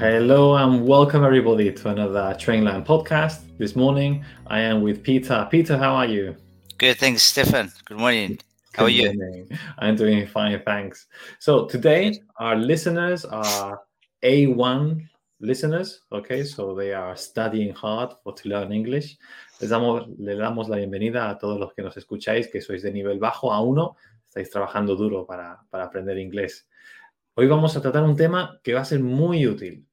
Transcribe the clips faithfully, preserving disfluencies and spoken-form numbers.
Hello and welcome everybody to another Trainline podcast. This morning I am with Peter. Peter, how are you? Good, thanks, Stefan. Good morning. How are Good you? morning. I'm doing fine, thanks. So today our listeners are A one listeners, okay? So they are studying hard for to learn English. Les damos, le damos la bienvenida a todos los que nos escucháis, que sois de nivel bajo A uno, estáis trabajando duro para, para aprender inglés. Hoy vamos a tratar un tema que va a ser muy útil.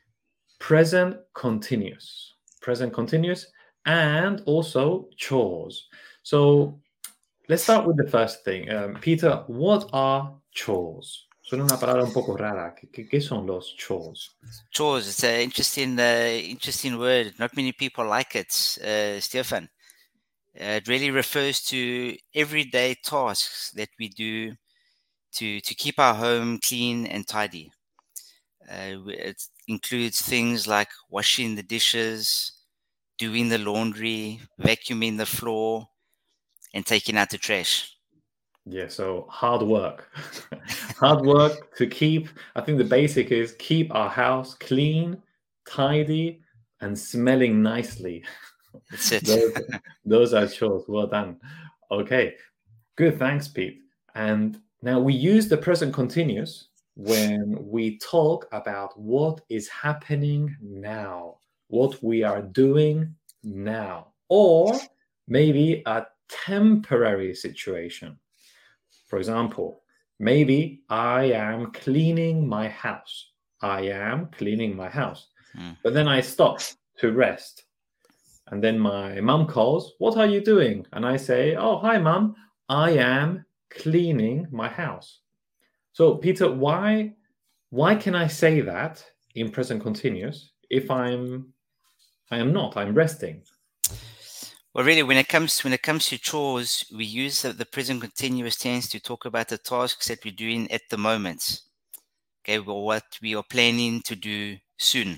Present continuous. Present continuous and also chores. So let's start with the first thing. Um, Peter, what are chores? Suena una palabra un poco rara. ¿Qué, qué, qué son los chores? Chores. It's an interesting, uh, interesting word. Not many people like it, uh, Stefan. Uh, it really refers to everyday tasks that we do to to keep our home clean and tidy. Uh, it includes things like washing the dishes, doing the laundry, vacuuming the floor, and taking out the trash. Yeah, so hard work. Hard work to keep, I think the basic is keep our house clean, tidy, and smelling nicely. That's it. those, those are chores. Well done. Okay, good. Thanks, Pete. And now we use the present continuous when we talk about what is happening now, what we are doing now, or maybe a temporary situation. For example, maybe I am cleaning my house. I am cleaning my house. Mm. But then I stop to rest. And then my mum calls, what are you doing? And I say, oh, hi, mum. I am cleaning my house. So, Peter, why why can I say that in present continuous if I'm I am not, I'm resting? Well, really, when it comes when it comes to chores, we use the, the present continuous tense to talk about the tasks that we're doing at the moment. Okay, well, what we are planning to do soon,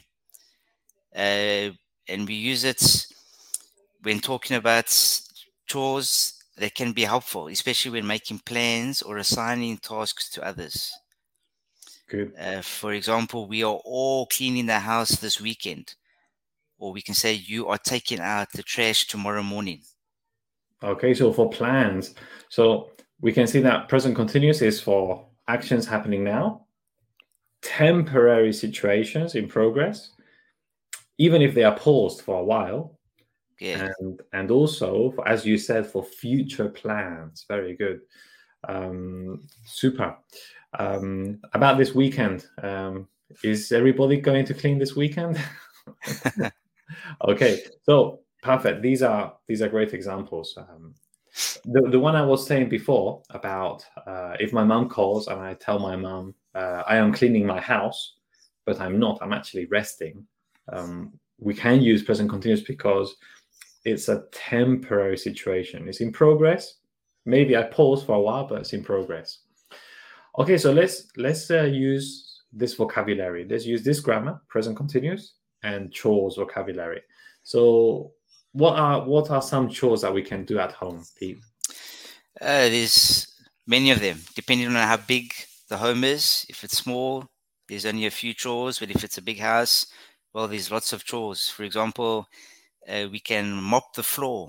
uh, and we use it when talking about chores that can be helpful, especially when making plans or assigning tasks to others. Good. Uh, for example, we are all cleaning the house this weekend, or we can say you are taking out the trash tomorrow morning. Okay, so for plans, so we can see that present continuous is for actions happening now, temporary situations in progress, even if they are paused for a while, Yeah. and and also, for, as you said, for future plans. Very good. Um, super. Um, about this weekend, um, is everybody going to clean this weekend? Okay, so perfect. These are these are great examples. Um, the the one I was saying before about uh, if my mom calls and I tell my mom uh, I am cleaning my house, but I'm not. I'm actually resting. Um, we can use present continuous because it's a temporary situation. It's in progress. Maybe I pause for a while, but it's in progress. Okay, so let's let's uh, use this vocabulary. Let's use this grammar, present continuous, and chores vocabulary. So, what are what are some chores that we can do at home, Pete? Uh, there's many of them, depending on how big the home is. If it's small, there's only a few chores, but if it's a big house, well, there's lots of chores. For example, uh, we can mop the floor,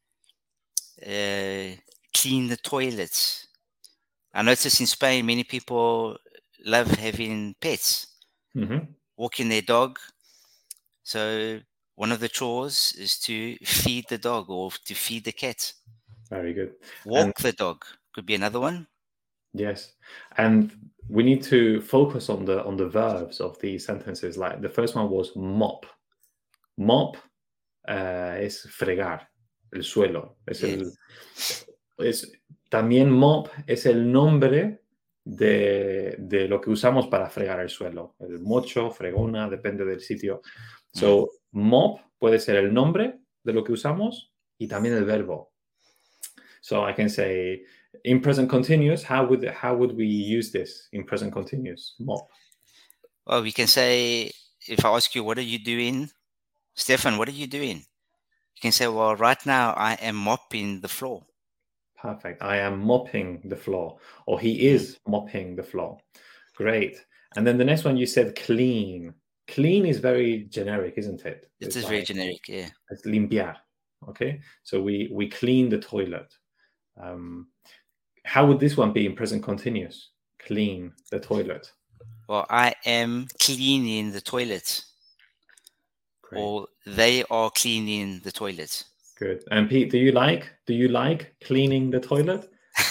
uh, clean the toilets. I notice in Spain, many people love having pets, Mm-hmm. walking their dog. So one of the chores is to feed the dog or to feed the cat. Very good. Walk And the dog could be another one. yes, and we need to focus on the on the verbs of these sentences. Like the first one was mop. Mop uh, es fregar el suelo. Es Yeah. el es también mop es el nombre de, de lo que usamos para fregar el suelo. El mocho, fregona, depende del sitio. So, mop puede ser el nombre de lo que usamos y también el verbo. So I can say in present continuous, how would how would we use this in present continuous? Mop. Well, we can say, if I ask you, what are you doing? Stefan, what are you doing? You can say, well, right now I am mopping the floor. Perfect. I am mopping the floor, or he is mopping the floor. Great. And then the next one you said clean. Clean is very generic, isn't it? It It's is like, very generic, yeah. It's limpiar. Okay, so we we clean the toilet. Um, how would this one be in present continuous? Clean the toilet. Well, I am cleaning the toilet. Great. Or they are cleaning the toilet. Good. And Pete, do you like do you like cleaning the toilet?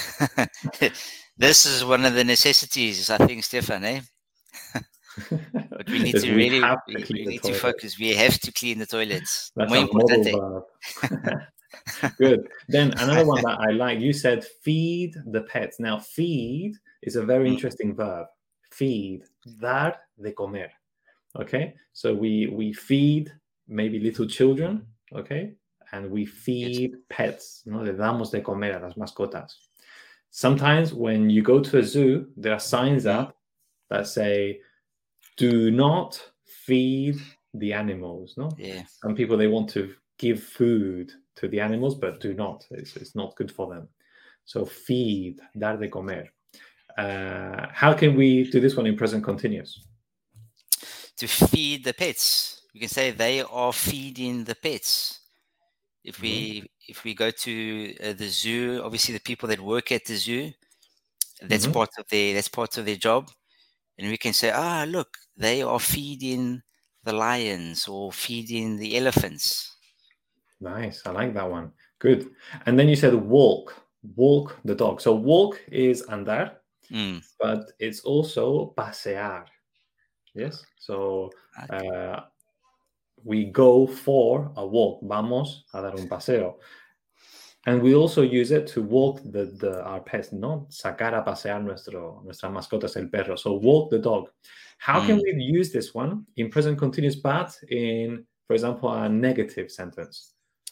This is one of the necessities, I think, Stefan, eh? But we need Yes, to we really have to we, clean we the need to toilet. focus. We have to clean the toilets. That's Muy a model importante. verb. Good. Then another one that I like, you said feed the pets. Now, feed is a very Mm. interesting verb. Feed, dar de comer. Okay, so we we feed maybe little children, okay, and we feed pets. No, le damos de comer a las mascotas. Sometimes when you go to a zoo, there are signs Mm. up that say, "Do not feed the animals." No, Yeah. some people, they want to give food to the animals, but do not. It's, it's not good for them. So feed, dar de comer. Uh, how can we do this one in present continuous? To feed the pets, you can say they are feeding the pets. If we Mm-hmm. if we go to uh, the zoo, obviously the people that work at the zoo, that's Mm-hmm. part of their that's part of their job, and we can say, ah, look, they are feeding the lions or feeding the elephants. Nice. I like that one. Good. And then you said walk, walk the dog. So walk is andar, Mm. but it's also pasear. Yes. So Okay. uh, we go for a walk. Vamos a dar un paseo. And we also use it to walk the, the our pets, no? Sacar a pasear nuestro, nuestras mascotas, el perro. So walk the dog. How Mm. can we use this one in present continuous, but in, for example, a negative sentence?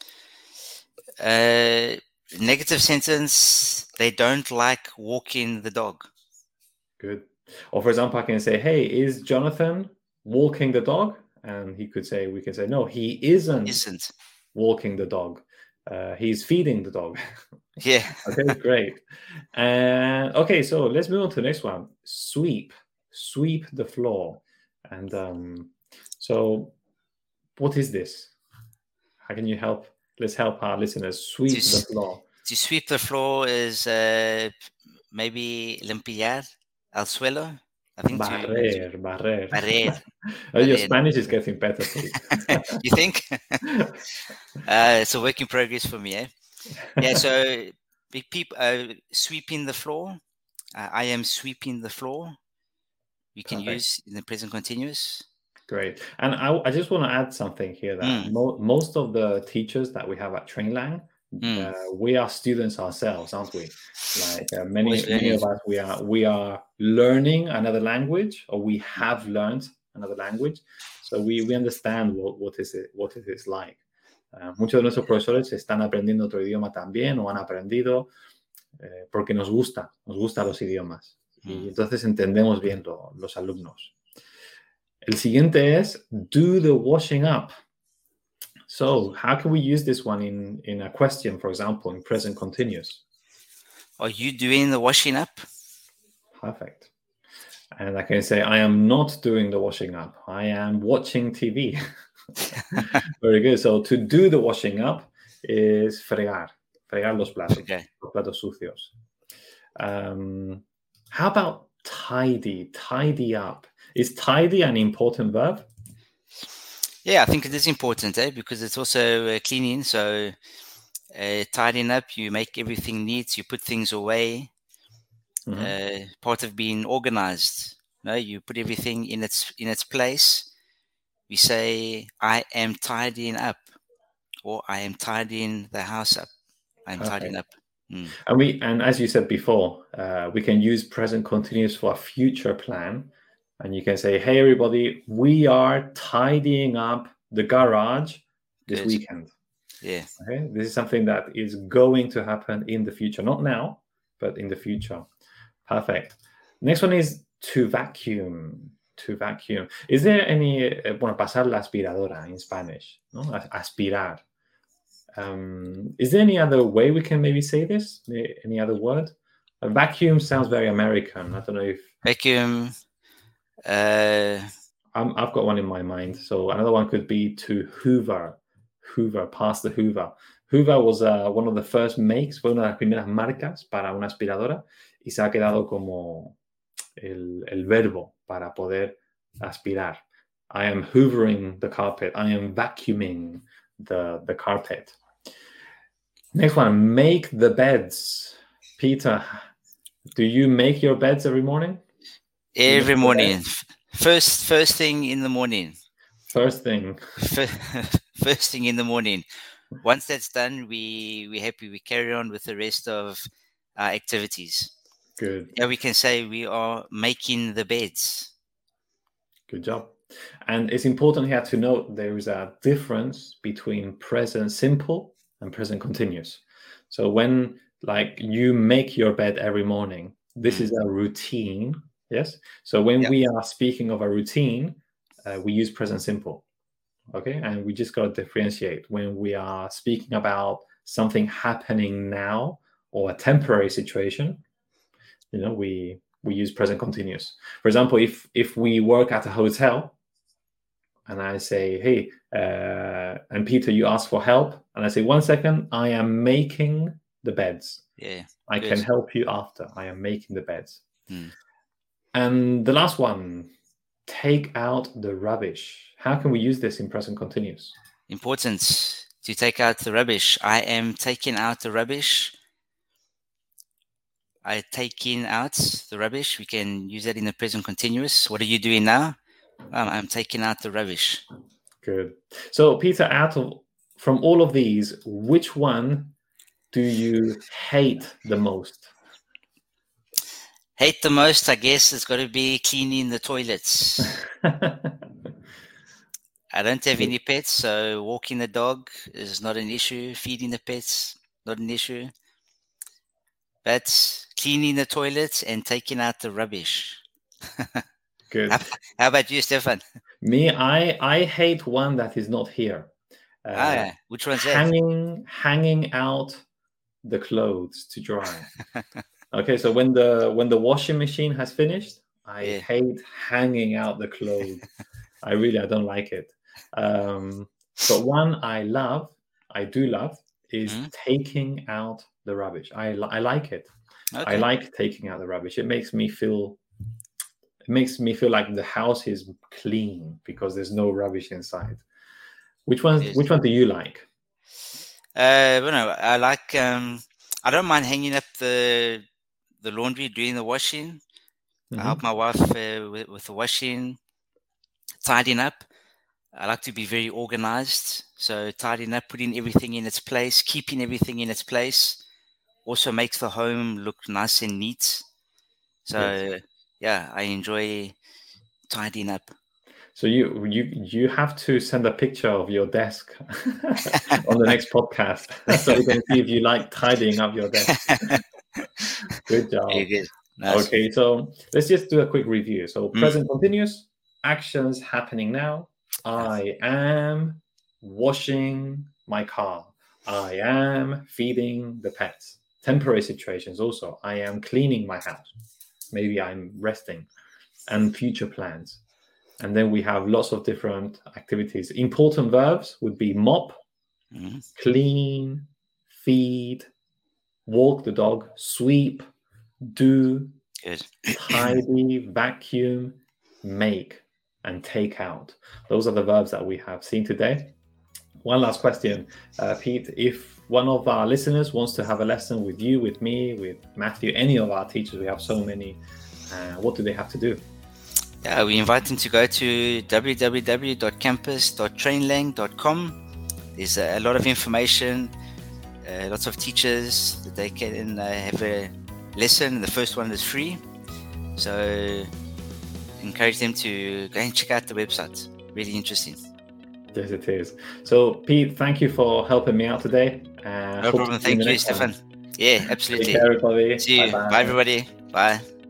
Uh, negative sentence, they don't like walking the dog. Good. Or for example, I can say, hey, is Jonathan walking the dog? And he could say, we can say, no, he isn't, Isn't. walking the dog. Uh, he's feeding the dog. Yeah. Okay, great. And okay, so let's move on to the next one. Sweep, sweep the floor. And um, so what is this? How can you help? Let's help our listeners sweep To the s- floor. To sweep the floor is uh, maybe limpiar el suelo. I think to, to Barrer, barrer. barrer. Oh, your Barrer. Spanish is getting better, Pete. You think? uh, it's a work in progress for me, eh? Yeah, so big people uh, sweeping the floor. Uh, I am sweeping the floor. You can Perfect. use in the present continuous. Great. And I, I just want to add something here that Mm. mo- most of the teachers that we have at Trainlang, Mm. uh, we are students ourselves, aren't we? Like uh, many, Always many learning. of us, we are we are learning another language, or we have learned another language, so we, we understand what, what is it what it is like. Uh, muchos de nuestros profesores están aprendiendo otro idioma también, o han aprendido eh, porque nos gusta, nos gustan los idiomas, y Mm. entonces entendemos bien lo, los alumnos. El siguiente es do the washing up. So how can we use this one in, in a question, for example, in present continuous? Are you doing the washing up? Perfect. And I can say, I am not doing the washing up. I am watching T V. Very good. So to do the washing up is fregar, fregar los platos, Okay. los platos sucios. Um, how about tidy, tidy up? Is tidy an important verb? Yeah, I think it is important, eh? Because it's also uh, cleaning. So uh, tidying up, you make everything neat. You put things away. Mhm. Uh, part of being organized. No, you put everything in its in its place. We say, "I am tidying up," or "I am tidying the house up." I'm Perfect. tidying up. Mm. And we, and as you said before, uh, we can use present continuous for a future plan. And you can say, hey, everybody, we are tidying up the garage this Good. weekend. Yeah. Okay, this is something that is going to happen in the future, not now, but in the future. Perfect. Next one is to vacuum. To vacuum. Is there any, uh, bueno, pasar la aspiradora in Spanish, no? Aspirar. Um, is there any other way we can maybe say this? Any other word? A vacuum sounds very American. I don't know if Vacuum. Uh, I'm, I've got one in my mind. So another one could be to hoover, hoover, pass the hoover. Hoover was uh, one of the first makes, fue una de las primeras marcas para una aspiradora y se ha quedado como el, el verbo para poder aspirar. I am hoovering the carpet. I am vacuuming the, the carpet. Next one, make the beds. Peter, do you make your beds every morning? Every morning. First, first thing in the morning. First thing. First thing in the morning. Once that's done, we we're happy. We carry on with the rest of our activities. Good. Yeah, we can say we are making the beds. Good job. And it's important here to note there is a difference between present simple and present continuous. So when like you make your bed every morning, this mm. is a routine. Yes. So when yep. we are speaking of a routine, uh, we use present simple. Okay. And we just got to differentiate when we are speaking about something happening now or a temporary situation, you know, we, we use present continuous. For example, if, if we work at a hotel and I say, hey, uh, and Peter, you ask for help. And I say, one second, I am making the beds. Yeah. I good. can help you after. I am making the beds. Hmm. And the last one, take out the rubbish. How can we use this in present continuous? Important to take out the rubbish. I am taking out the rubbish. I taking out the rubbish. We can use that in the present continuous. What are you doing now? Um, I'm taking out the rubbish. Good. So, Peter, out of from all of these, which one do you hate the most? Hate the most, I guess, it's got to be cleaning the toilets. I don't have any pets, so walking the dog is not an issue. Feeding the pets, not an issue. But cleaning the toilets and taking out the rubbish. Good. How, how about you, Stefan? Me, I I hate one that is not here. Uh, ah, yeah. Which one's hanging, that? Hanging out the clothes to dry. Okay, so when the when the washing machine has finished, I yeah. hate hanging out the clothes. I really I don't like it. Um, but one I love, I do love, is mm-hmm. taking out the rubbish. I I like it. Okay. I like taking out the rubbish. It makes me feel. It makes me feel like the house is clean because there's no rubbish inside. Which one? Yes. Which one do you like? Uh, well, no, I like. Um, I don't mind hanging up the the laundry, doing the washing. Mm-hmm. I help my wife uh, with, with the washing, tidying up. I like to be very organized. So tidying up, putting everything in its place, keeping everything in its place, also makes the home look nice and neat. So. Yes. Yeah, I enjoy tidying up. So you you you have to send a picture of your desk on the next podcast, so we can see if you like tidying up your desk. Good job. Very good. Nice. Okay, so let's just do a quick review. So mm. present continuous, actions happening now. I am washing my car. I am feeding the pets. Temporary situations also. I am cleaning my house. Maybe I'm resting, and future plans. And then we have lots of different activities. Important verbs would be mop, mm-hmm. clean, feed, walk the dog, sweep, do, Good. tidy, vacuum, make, and take out. Those are the verbs that we have seen today. One last question, uh, Pete. If one of our listeners wants to have a lesson with you, with me, with Matthew, any of our teachers, we have so many, uh, what do they have to do? Yeah, we invite them to go to w w w dot campus dot trainlang dot com. There's a lot of information, uh, lots of teachers that they can uh, have a lesson. The first one is free. So encourage them to go and check out the website. Really interesting. Yes, it is. So, Pete, thank you for helping me out today. Uh, no problem. Thank you, Stefan. Yeah, absolutely. Take care, everybody. See you. Bye, Bye everybody. Bye.